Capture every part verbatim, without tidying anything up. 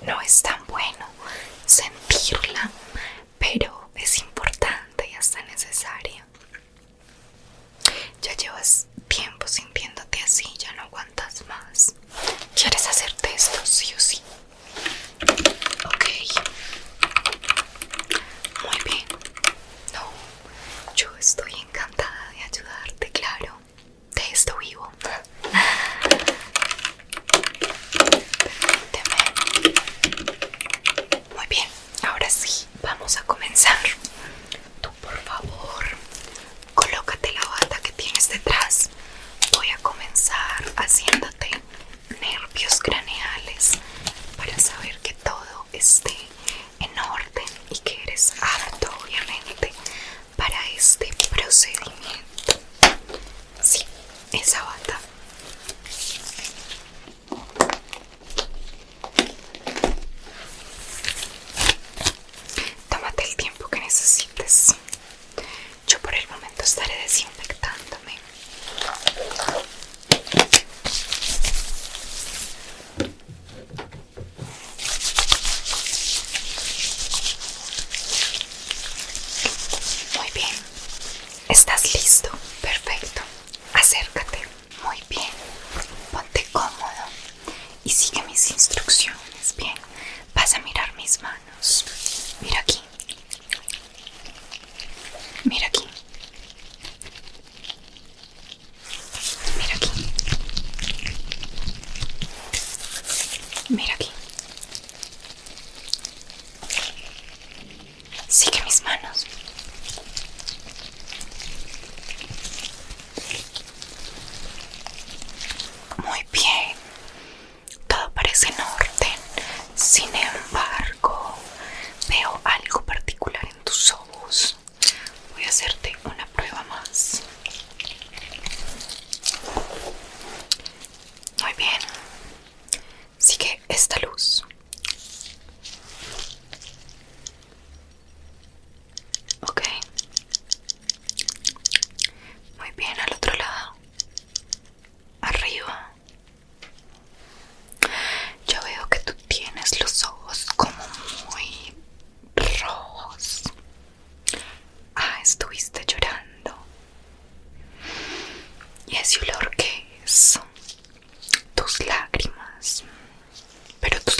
no es tan bueno sentirla, pero es importante y hasta necesaria. Ya llevas tiempo sintiéndote así, ya no aguantas más. ¿Quieres hacerte esto sí o sí? Ok, muy bien. No, yo estoy encantada de ayudarte, claro. De esto vivo. Permíteme. Muy bien, ahora sí, vamos a comenzar. Tú, por favor, colócate la bata que tienes detrás. Voy a comenzar haciéndote nervios craneales para saber que todo esté en orden y que eres apto, obviamente, para este procedimiento. Sí, esa bata. Tómate el tiempo que necesites. Yo por el momento estaré desinfectándome. Muy bien. ¿Estás listo? Perfecto. Acércate. Muy bien. Ponte cómodo y sigue mis instrucciones. Bien. Vas a mirar mis manos. Mira aquí. Mira aquí. Mira aquí. Mira aquí. Sigue mis manos. Muy bien. Todo parece en orden. Sin embargo, veo algo particular en tus ojos. Voy a hacerte una prueba más. Muy bien. Sigue esta luz. Ok. Muy bien, al otro lado. Arriba. Yo veo que tú tienes los ojos como muy rojos. Ah, estuviste llorando. ¿Y ese olor qué es? Tus lágrimas. Pero tus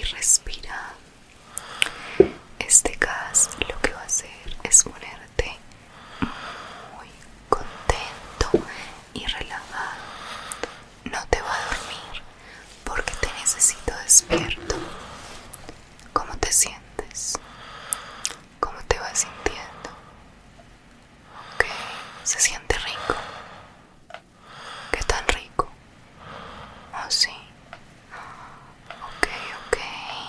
respira. Este gas lo que va a hacer es ponerte muy contento y relajado. No te va a dormir porque te necesito despierto. ¿Cómo te sientes? ¿Cómo te vas sintiendo? Ok, se siente rico. ¿Qué tan rico? Oh, sí. Ok, ok.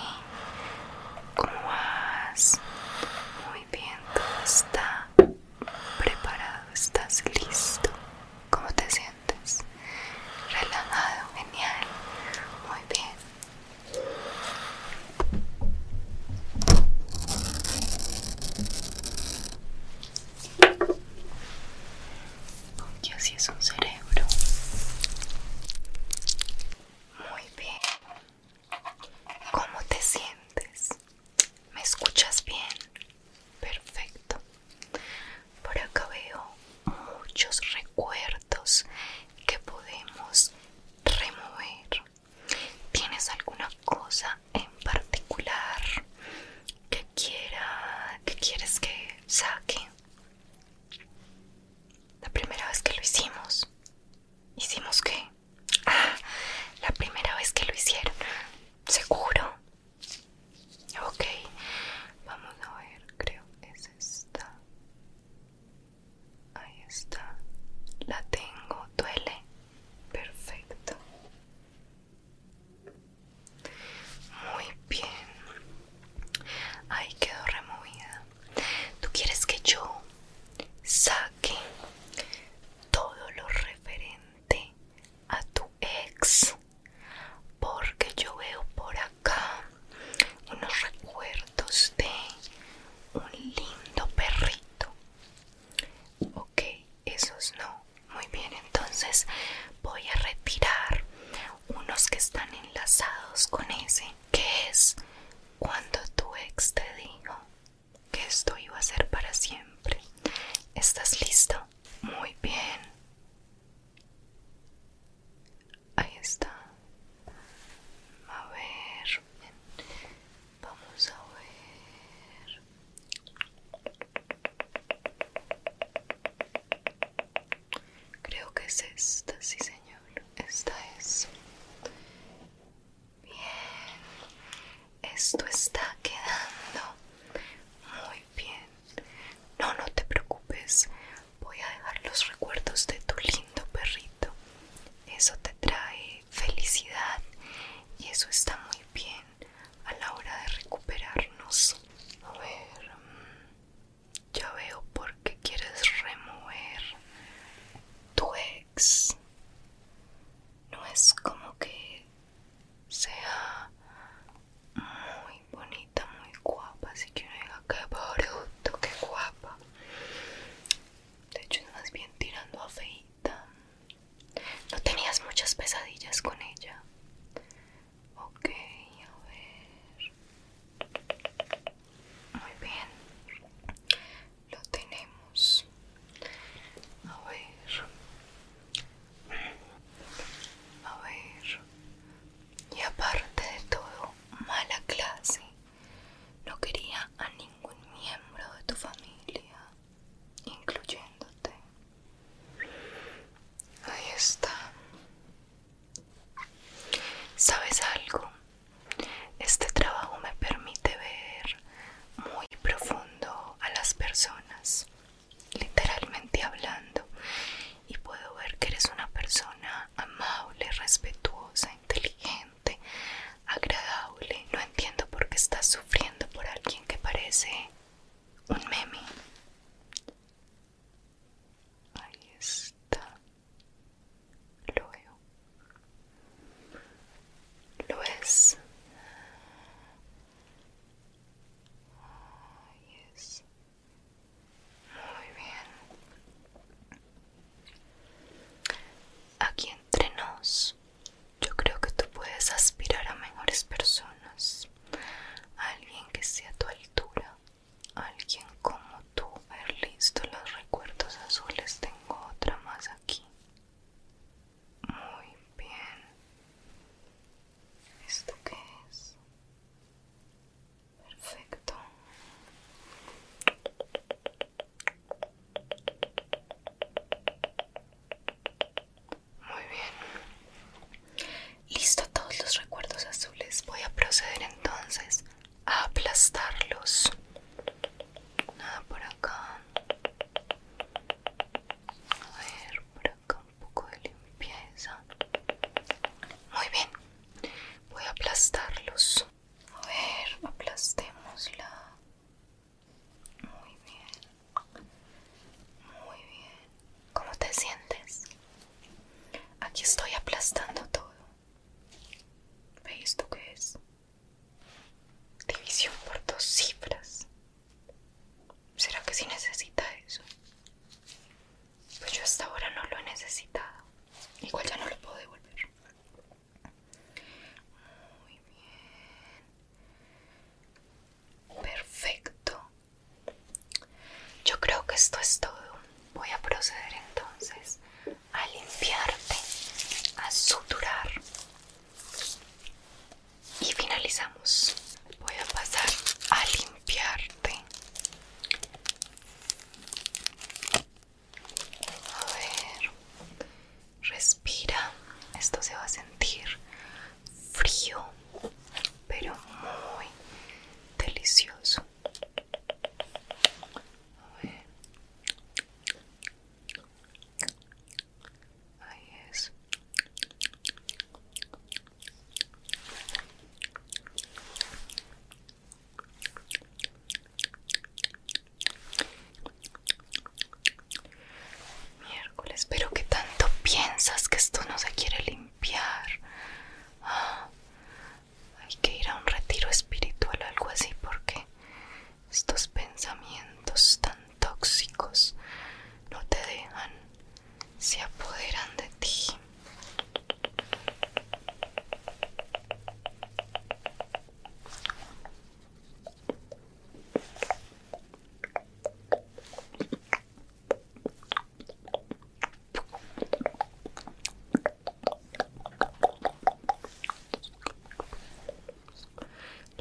¿Cómo vas? Muy bien, todo está preparado, estás listo. ¿Cómo te sientes? Relajado, genial. Muy bien. Porque así es un cerebro. Muy bien. ¿Cómo te sientes? ¿Me escuchas bien? Perfecto. Por acá veo muchos recuerdos que podemos remover. ¿Tienes alguna cosa en particular que quiera, que quieres que saque? La primera vez que lo hicimos. ¿Hicimos qué? Ah, la primera vez que lo hicieron. ¿Seguro? Ok, vamos a ver, creo que es esta. Ahí está. La tengo, duele. Perfecto. Muy bien. Ahí quedó removida. ¿Tú quieres que yo saque todo lo referente a tu ex? Porque yo veo por acá unos recuerdos de un lindo perrito. Ok, esos no. Muy bien, entonces voy a retirar unos que están enlazados con ese, que es cuando tu ex te dijo que esto iba a ser para siempre. ¿Estás listo? Muy bien. Ahí está. A ver, vamos a ver. Creo que es esta, sí señor. Esta es. Bien. Esto está quedando muy bien. No, no te preocupes. Voy a dejar los recuerdos de tu lindo perrito. Eso te trae felicidad y eso está muy bien a la hora de recuperarnos. A ver, ya veo por qué quieres remover tu ex. No es como que sea muy bonita, muy guapa, así que uno diga qué bruto, qué guapa. De hecho es más bien tirando a feíta. ¿No tenías muchas pesadillas con ella? Ok, a ver. Muy bien. Lo tenemos. A ver. A ver. Y aparte de todo, mala clase. No quería a ningún miembro de tu familia, incluyéndote. Ahí está. ¿Sabes algo? Este trabajo me permite ver muy profundo a las personas, literalmente hablando, y puedo ver que eres una persona amable, respetuosa, inteligente, agradable. No entiendo por qué estás sufriendo por alguien que parece un meme. Ahí está. Lo veo. ¿Lo ves? Ahí es. Muy bien. Aquí entre nos, yo creo que tú puedes aspirar a mejores personas. Alguien que sea a tu altura. Alguien como tú. A ver, listo, los recuerdos azules. Tengo otra más aquí. Muy bien. ¿Esto qué es?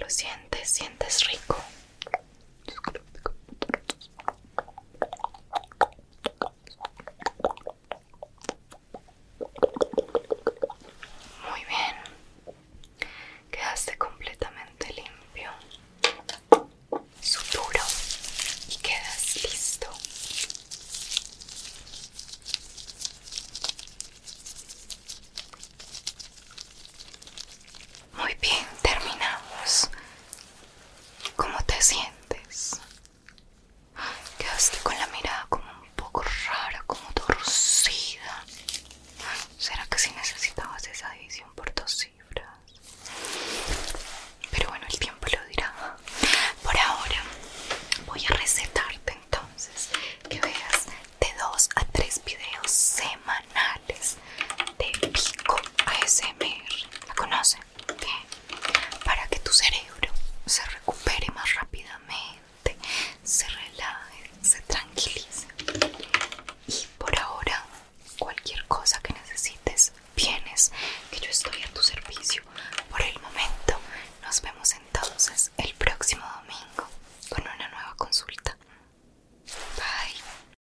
lo sientes, sientes rico. Muy bien, quedaste completamente limpio. Suturo y quedas listo. Muy bien, terminamos. ¿Cómo te sientes? Quedaste con la mirada como un poco rara, como torcida. ¿Será que si necesitabas esa división por dos cifras? Pero bueno, el tiempo lo dirá. Por ahora voy a recetarte entonces que veas de dos a tres videos semanales de Pico A S M R. ¿La conocen? Bien. Para que tu cerebro se recupere más rápidamente, se relaje, se tranquilice. Y por ahora, cualquier cosa que necesites, vienes, que yo estoy a tu servicio. Por el momento, nos vemos entonces el próximo domingo con una nueva consulta.